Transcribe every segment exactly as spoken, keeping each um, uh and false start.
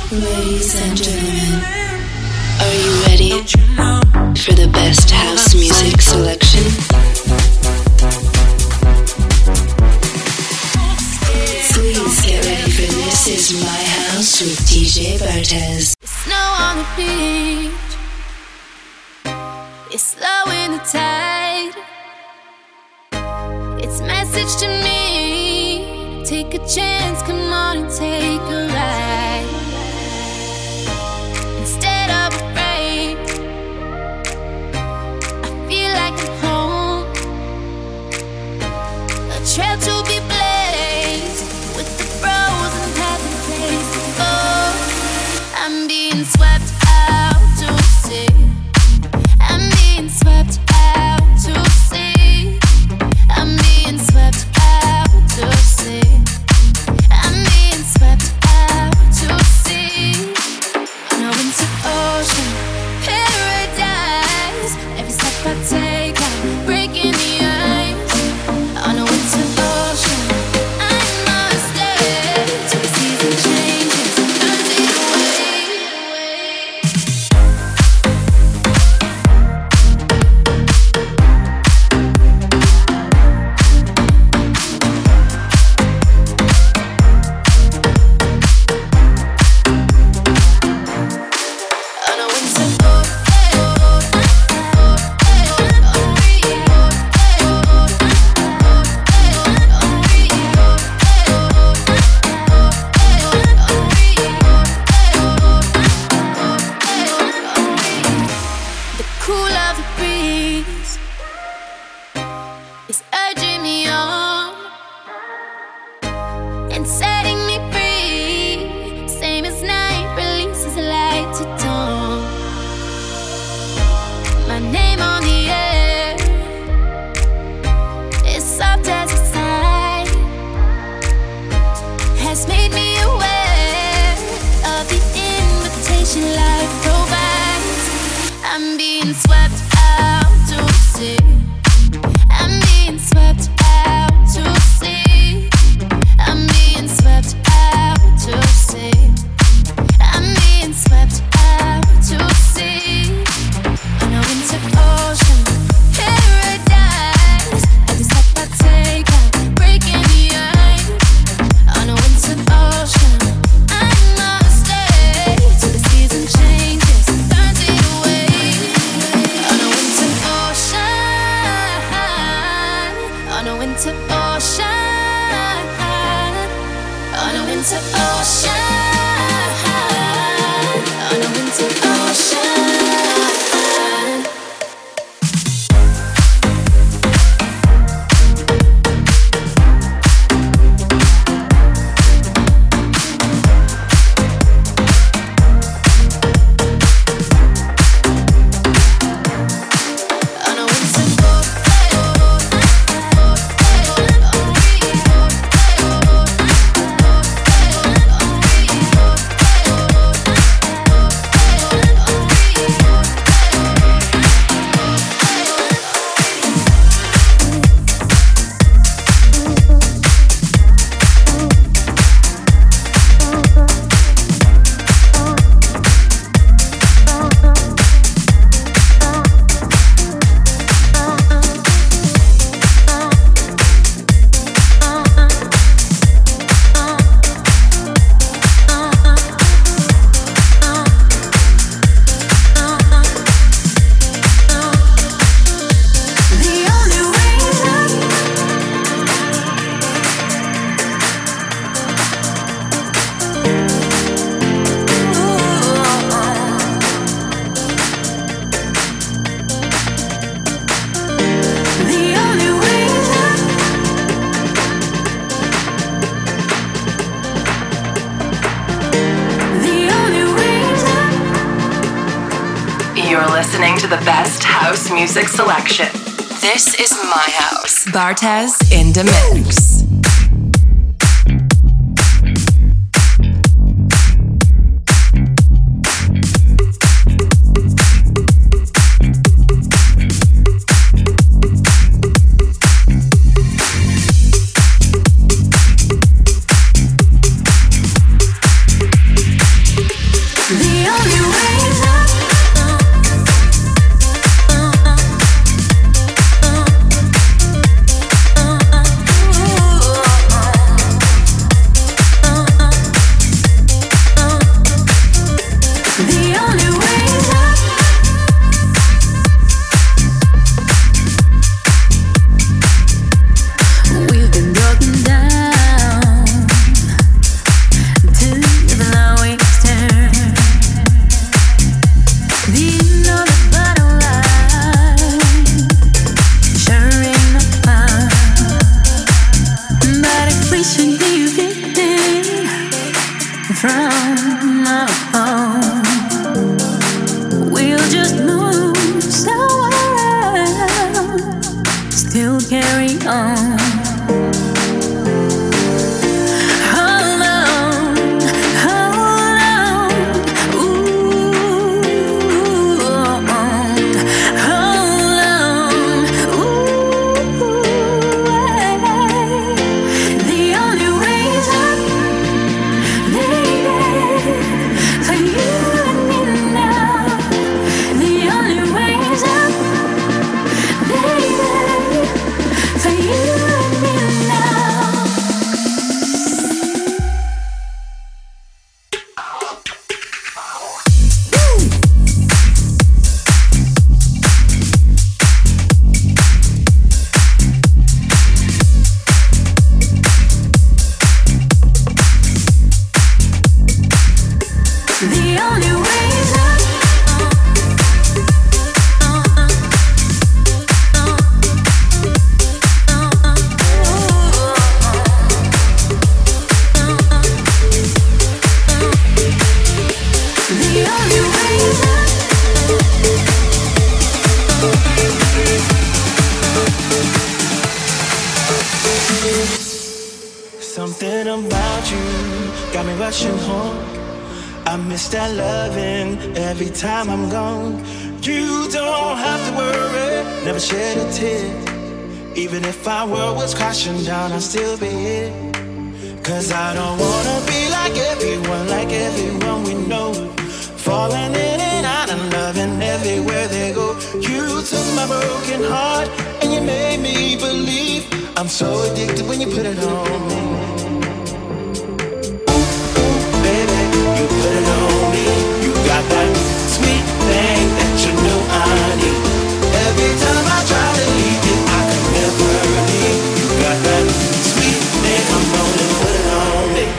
Ladies and gentlemen, are you ready for the best house music selection? Please get ready for This Is My House with D J Bartez. Snow on the beach, it's slow in the tide. It's message to me, take a chance, come on and take a ride. Instead of afraid, I feel like I'm home. A trail to be blazed, with the frozen path in place. Oh, I'm being swept out to sea. I'm being swept out to sea. I'm being swept out to sea. I'm being swept out to sea. On a winter ocean, paradise. Every step I take, I'm breaking the ice. On a winter ocean, I must stay till the season changes, turns it away. On a winter the cool of the breeze is urging me on and setting me free. Same as night releases light to dawn. My name on the air is soft as a sigh, has made me aware of the invitation life provides. I'm being swept out to sea. I'm being swept out to sea. I'm being swept out to sea. I'm being swept out to sea. On a winter ocean, paradise. Every step I take, I'm breaking the ice. On a winter ocean, I must stay till the season changes, turns it away. On a winter ocean, on a winter ocean, on a winter ocean, on a winter ocean. On a winter listening to the best house music selection. This is My House. Bartez in the mix. Down, I'll still be here. Cause I don't wanna be like everyone, like everyone we know. Falling in and out of love and everywhere they go. You took my broken heart and you made me believe. I'm so addicted when you put it on me. Ooh, ooh, baby, you put it on me. You got that sweet thing that you know I need. Every time I try to leave you, I can never leave. Got that sweet thing, I'm gonna put it on me.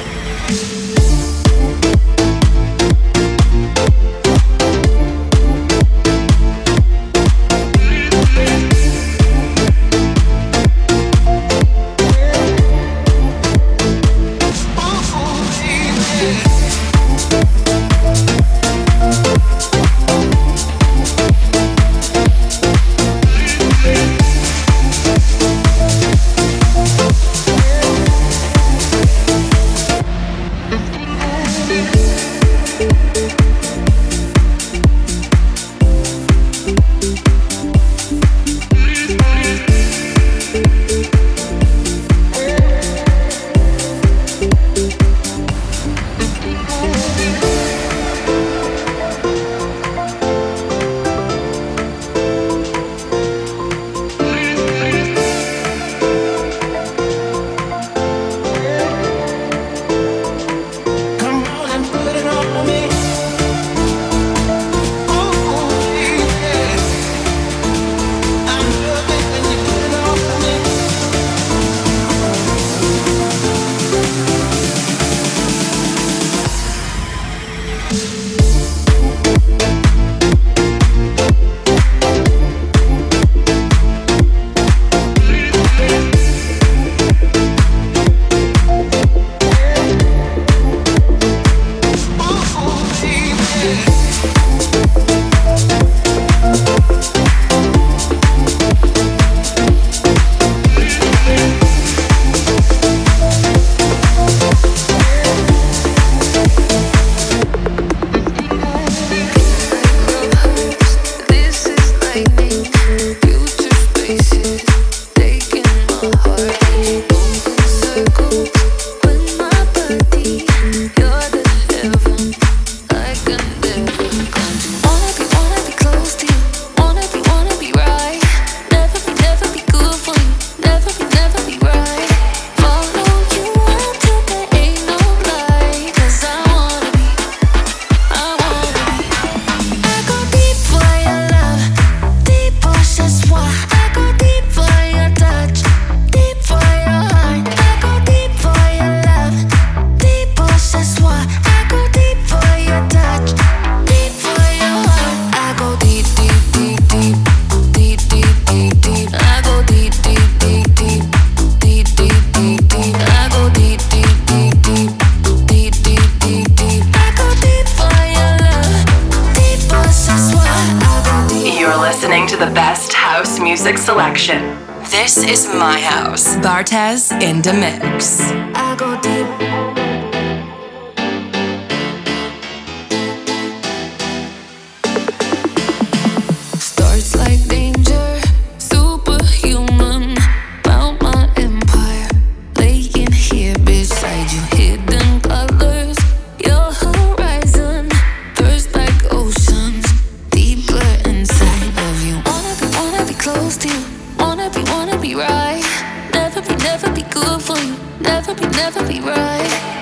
listening to the best house music selection. This is my house. Bartez in the mix. I go deep. Starts like danger, superhuman. Found my empire, laying here beside you. Hidden colors, your horizon. First like oceans, deeper inside of you. Wanna be, wanna be close to you. Wanna be, wanna be right. Never be, never be good for you. Never be, never be right.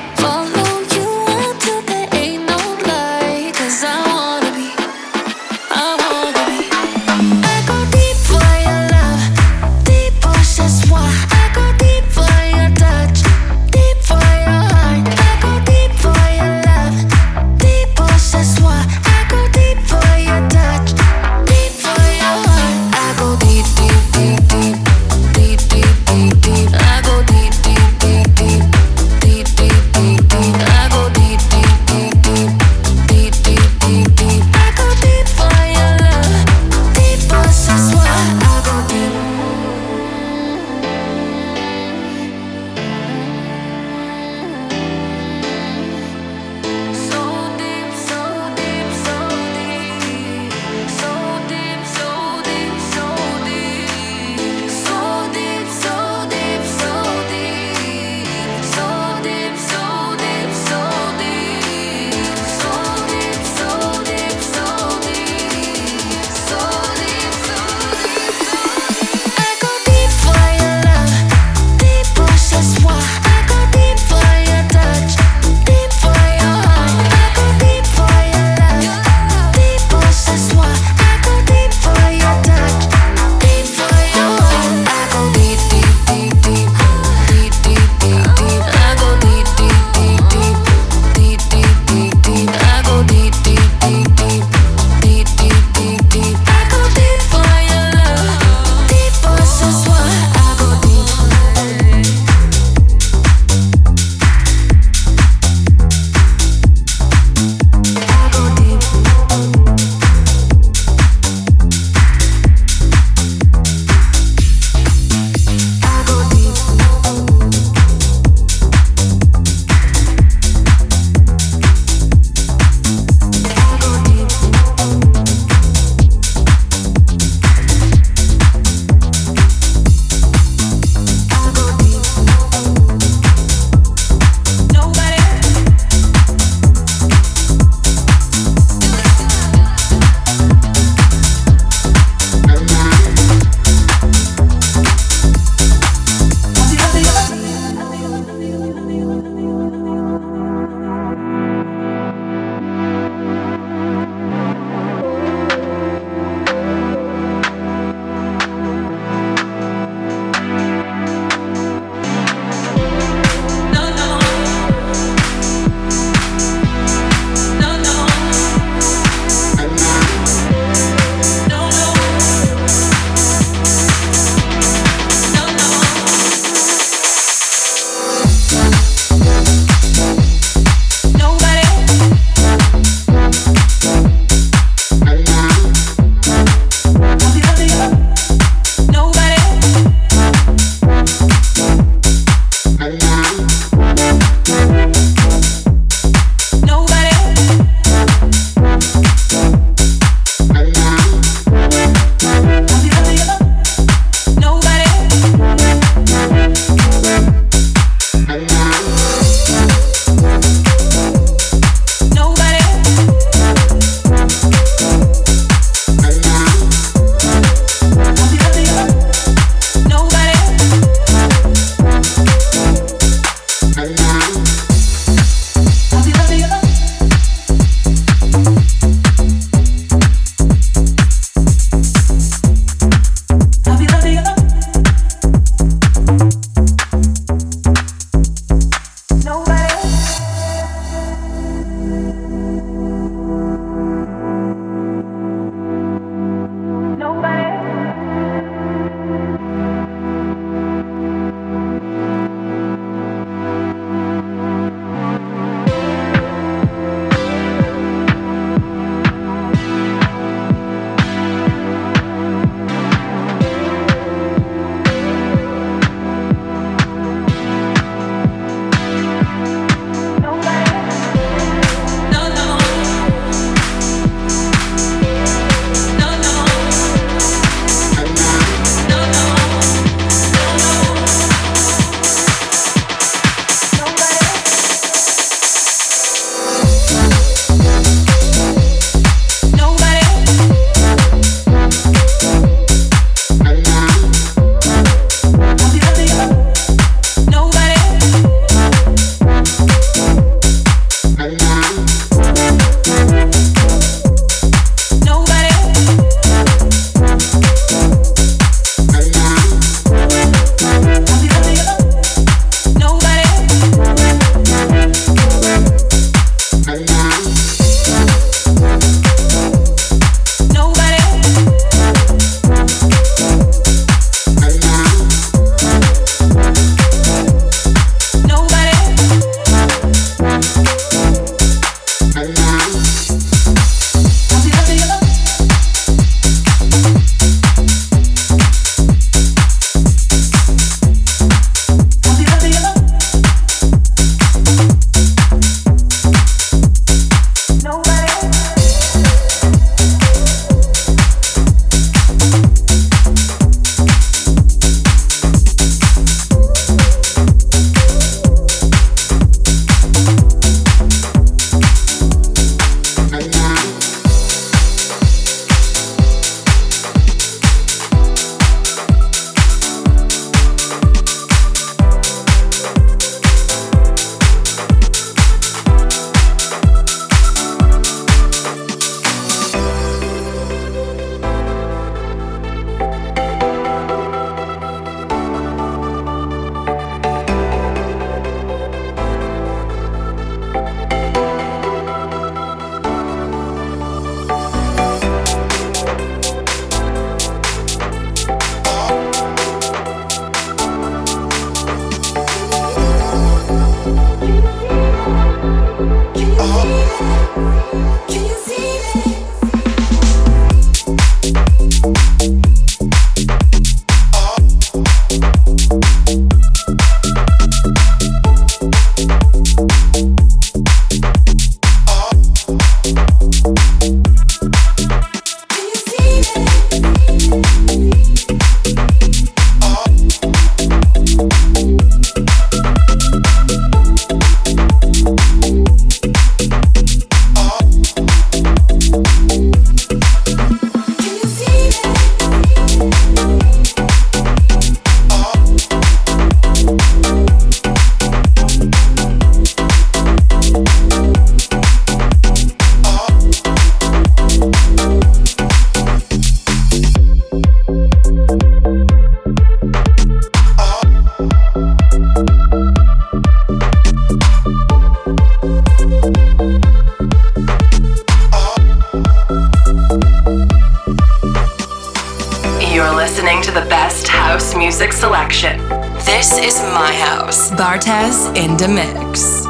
This is my house. Bartez in the mix.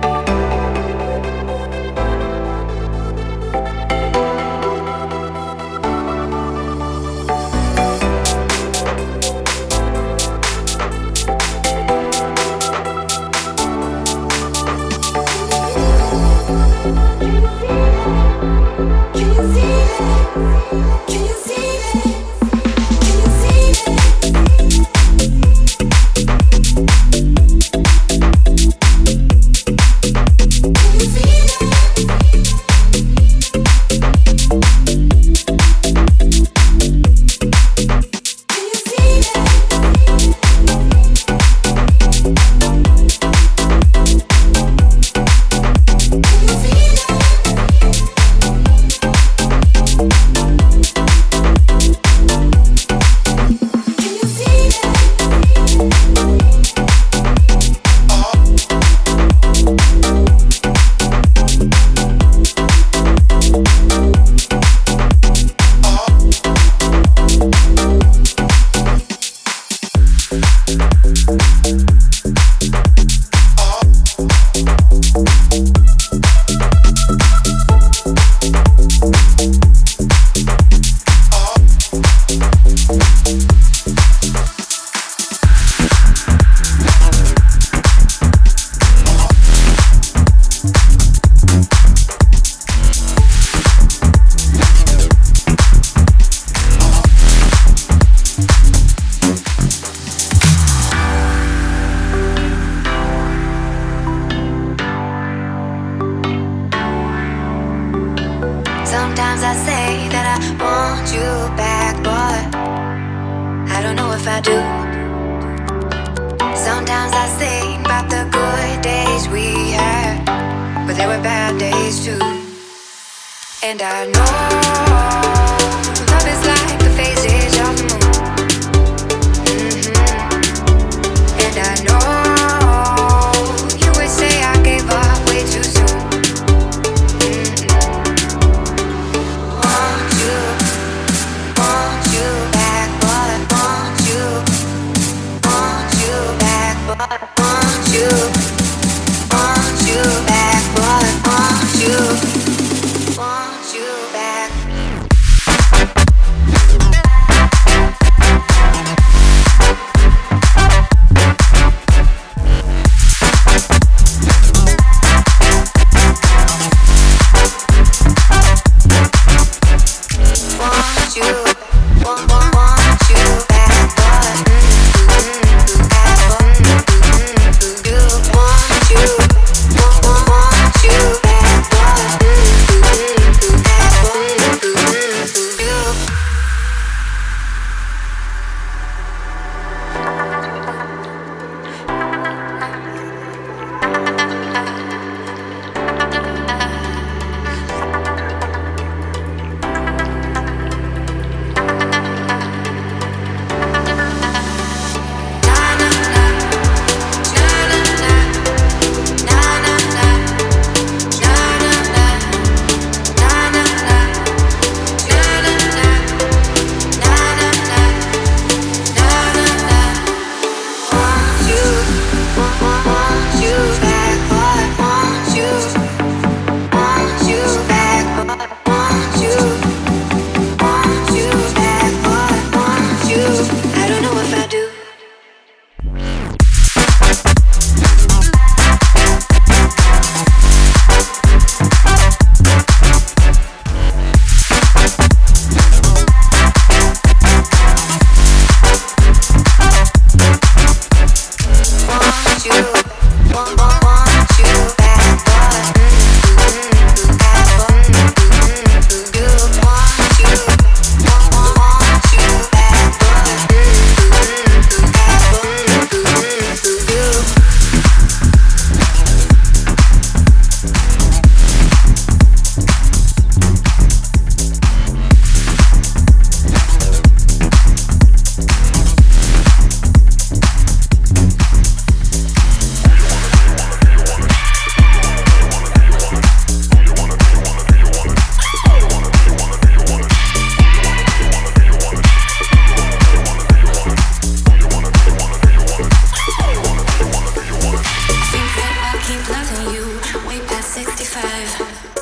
Sometimes I say that I want you back, but I don't know if I do. Sometimes I think about the good days we had, but there were bad days too. And I know love is like the phases of the moon. Mm-hmm. And I know you would say I gave up way too soon. Want you back.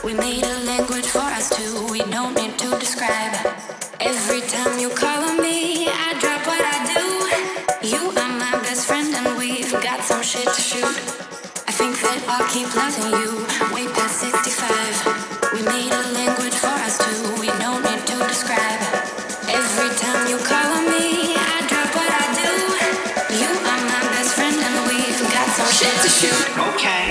We made a language for us two. We don't need to describe. Every time you call on me, I drop what I do. You are my best friend and we've got some shit to shoot. I think that I'll keep loving you way past sixty-five. We made a language for us two. We don't need to describe. Every time you call on me, I drop what I do. You are my best friend and we've got some shit to shoot. Okay.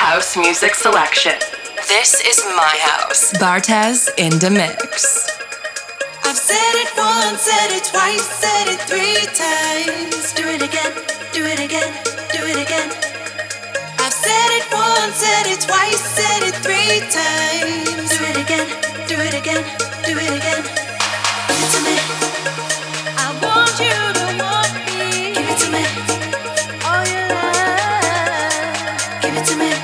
house music selection. This is my house. Bartez in the mix. I've said it once, said it twice, said it three times. Do it again, do it again, do it again. I've said it once, said it twice, said it three times. Do it again, do it again, do it again. Give it to me. I want you to want me. Give it to me. All your love. Give it to me.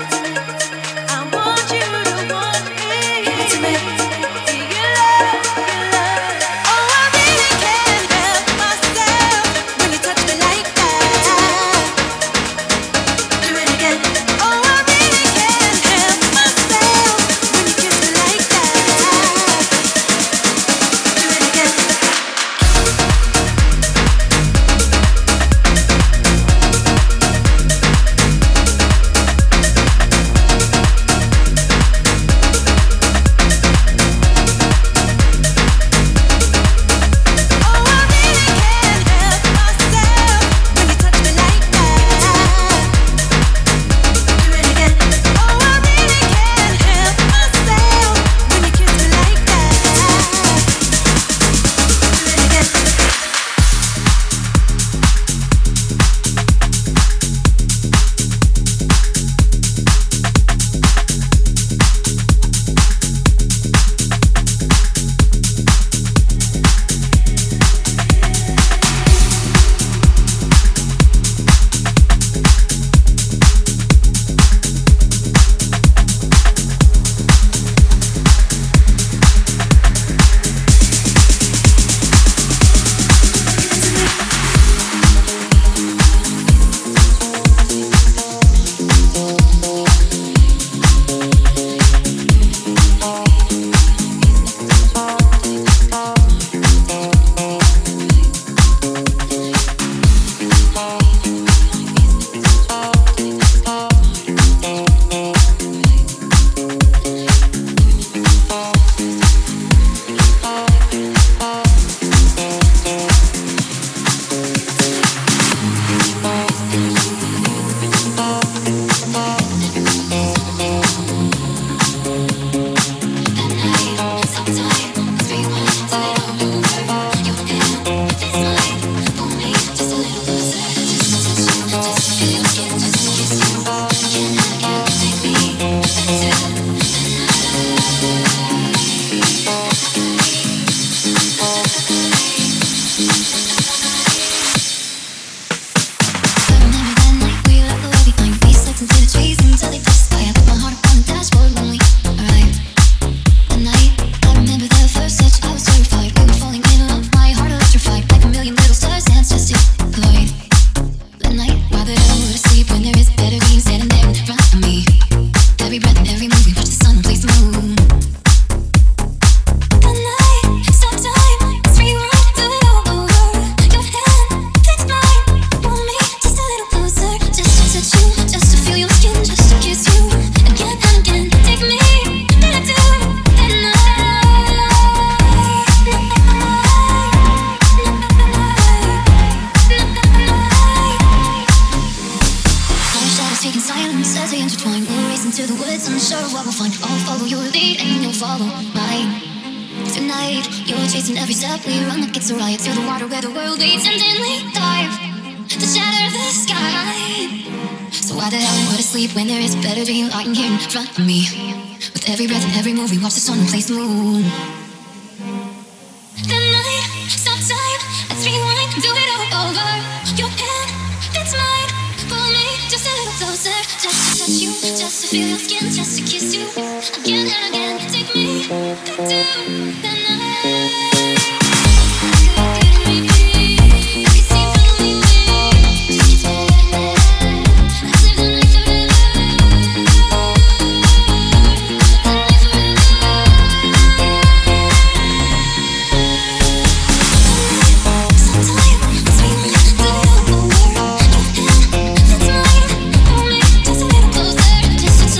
I want you to want me. Give it to me.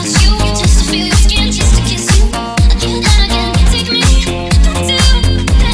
Just to feel your skin, just to kiss you again and again. Take me back to the night.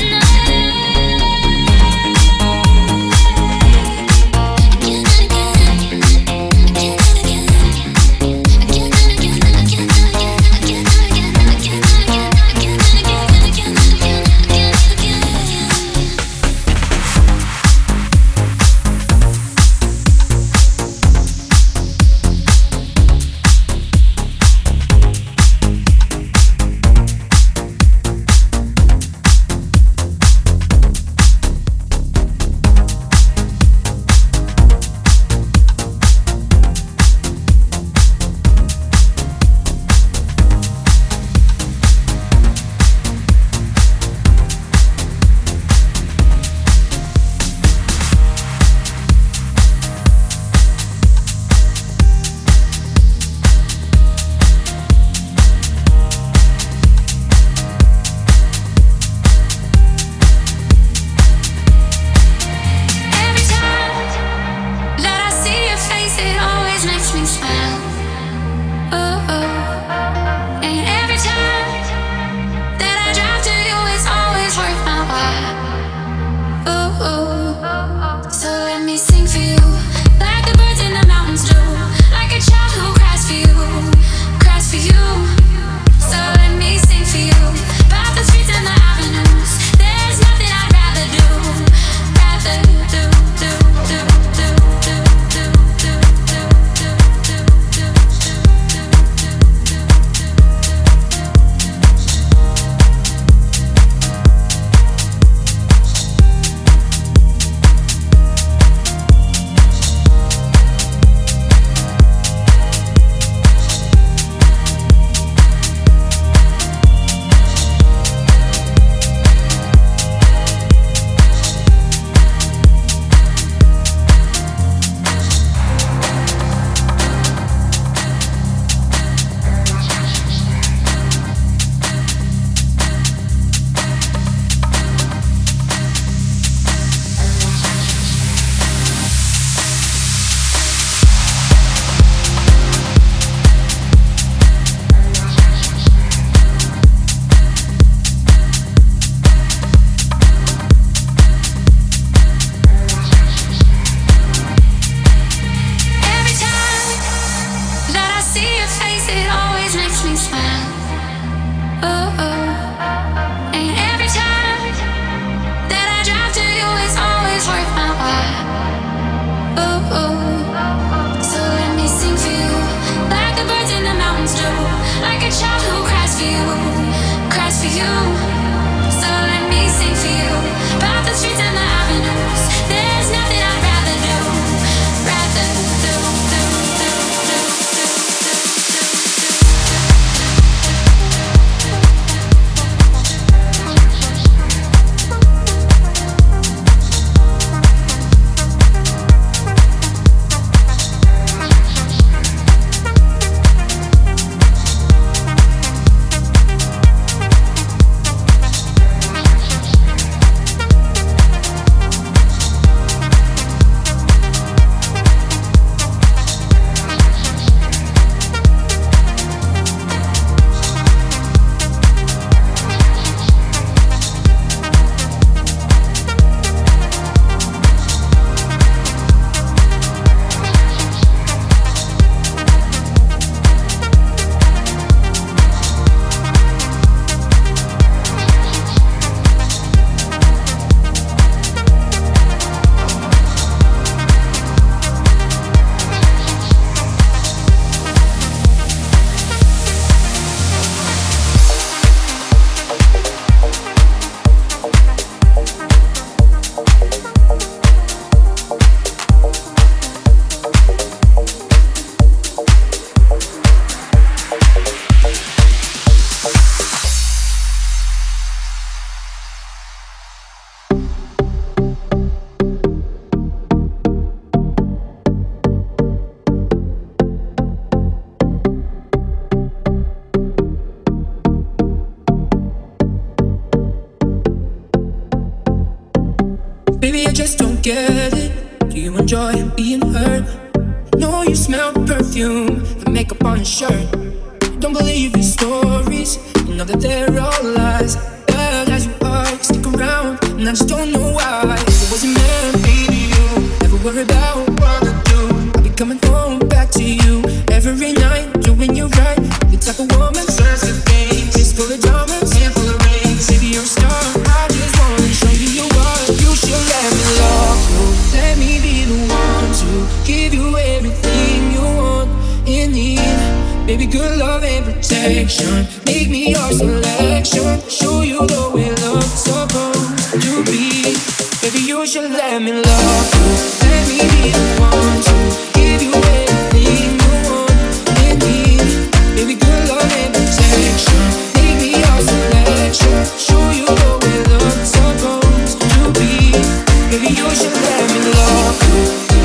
get it? Do you enjoy being hurt? No, you smell perfume, the makeup on your shirt. Don't believe your stories, you know that they're all lies. Bad as you are, stick around, and I just don't know why. If it wasn't meant, baby, you never worry about what I do. I'll be coming home back to you every night, doing you right. The type of woman serves the things, it's full of diamonds and full of rings. Baby, you're a star, I just wanna show you you are. You should let me love you, let me be the one to give you everything you want and need. Baby, good love and protection, make me your selection, show you the way love's supposed to be. Baby, you should let me love you, let me be the one to give you everything you want and need. Baby, good love and protection, make me your selection, show you the way love's supposed to be. Baby, you should let me love you,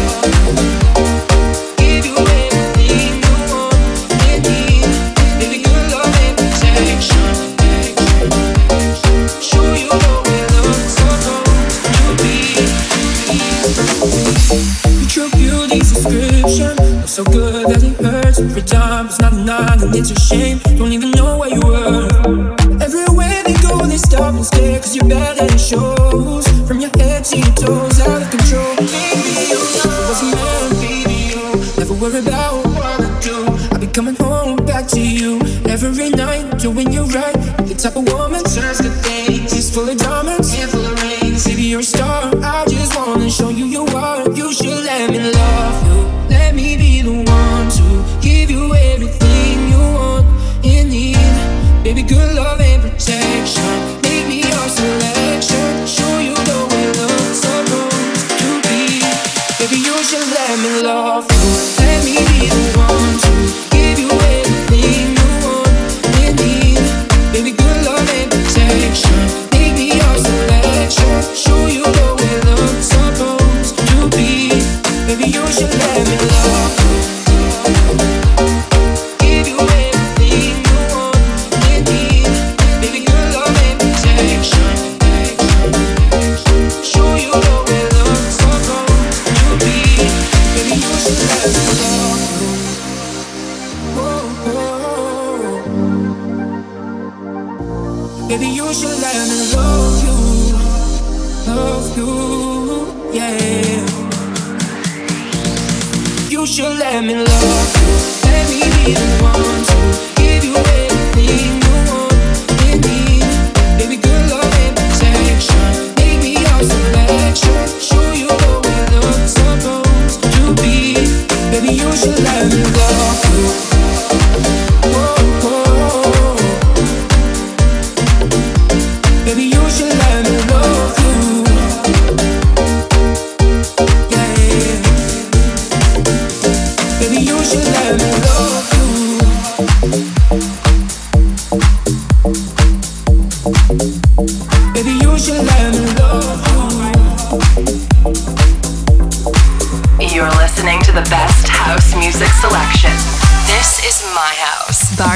give you everything you want and need. Baby, good love and protection, show you the way love's supposed to be. You true beauty's description, love so good that it hurts. Every time it's not enough and it's a shame. Don't even know where you were. Everywhere they go they stop and stare, cause you're bad and it shows. From your head to your toes, out of control. Baby, you know it wasn't meant, baby, you never worry about what I do. I'll be coming home back to you every night, doing you right. The type of woman serves good things, she's full of diamonds and full of rings. Baby, you're a star, I just wanna show you you are. You should let me love you, let me be the one to give you everything you want and need. Baby, good love and protection, make me your selection, show you the way love's supposed to be. Baby, you should let me love you, let me be the one to give you everything you want and need. Baby, good love and protection, make me your selection, show you the way love's supposed to be. Baby, you should let me love you, give you everything you want and need. Baby, good love and protection, show you the way love's supposed to be. Baby, you should let me love you. Oh, oh. Baby, you should let me love you, love you, yeah. You should let me love you, let me be the one to give you everything you want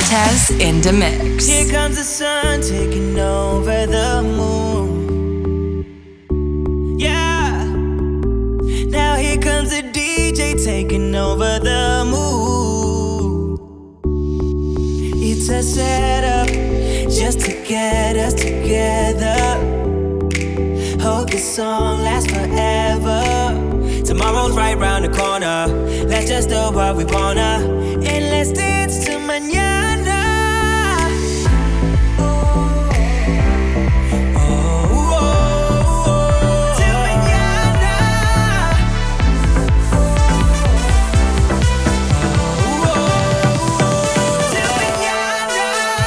Bartez in the mix. Here comes the sun taking over the moon. Yeah. Now here comes the D J taking over the mood. It's a setup just to get us together. Hope this song lasts forever. Tomorrow's right round the corner. Let's just do what we wanna, and let's dance to mañana. Oh, oh, oh, till mañana. Oh, oh, oh, till mañana.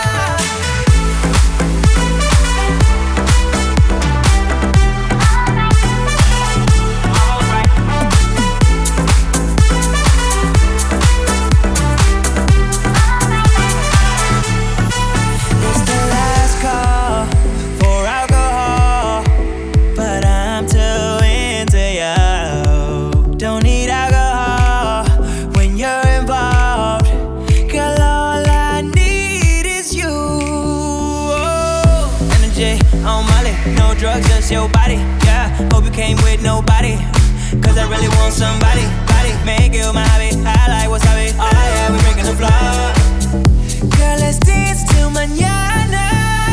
Drugs, just your body, yeah. Hope you came with nobody, cause I really want somebody, body. Make you my hobby, I like wasabi. Oh yeah, we drinking the floor. Girl, let's dance till mañana.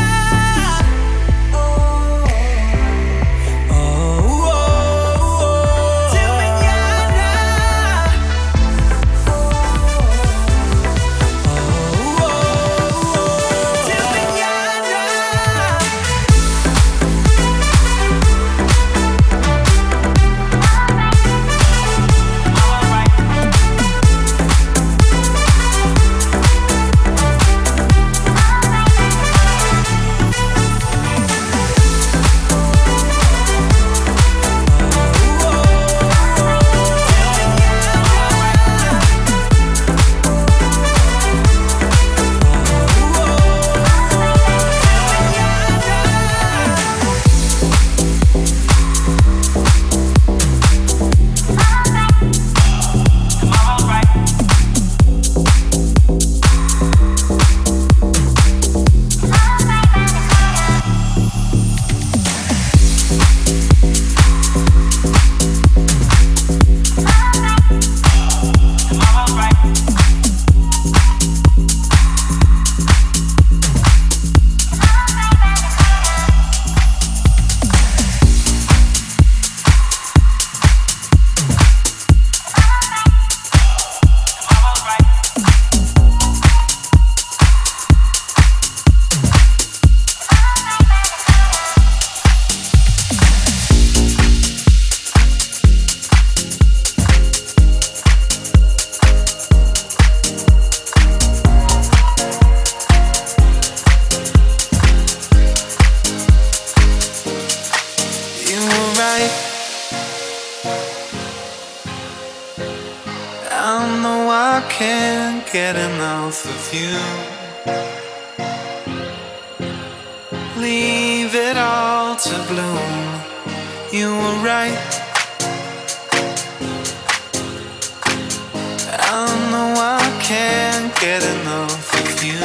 Get enough of you. Leave it all to bloom. You were right. I know I can't get enough of you.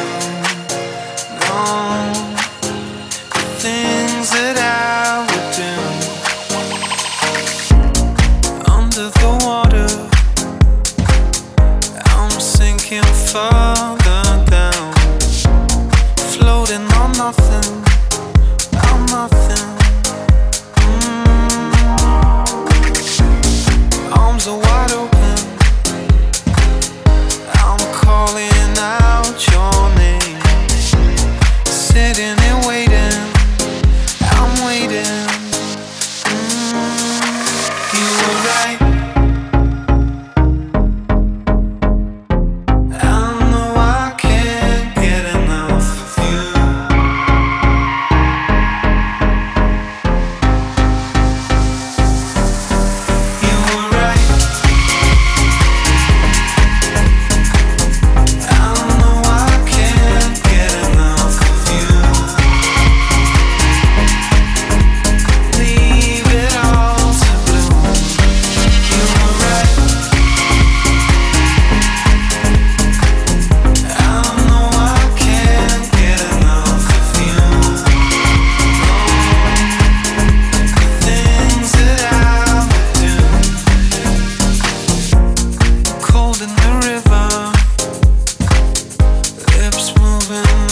No, the things that I would do under the water. Further down, floating on nothing, on nothing. Mm. Arms are wide open. I'm calling out moving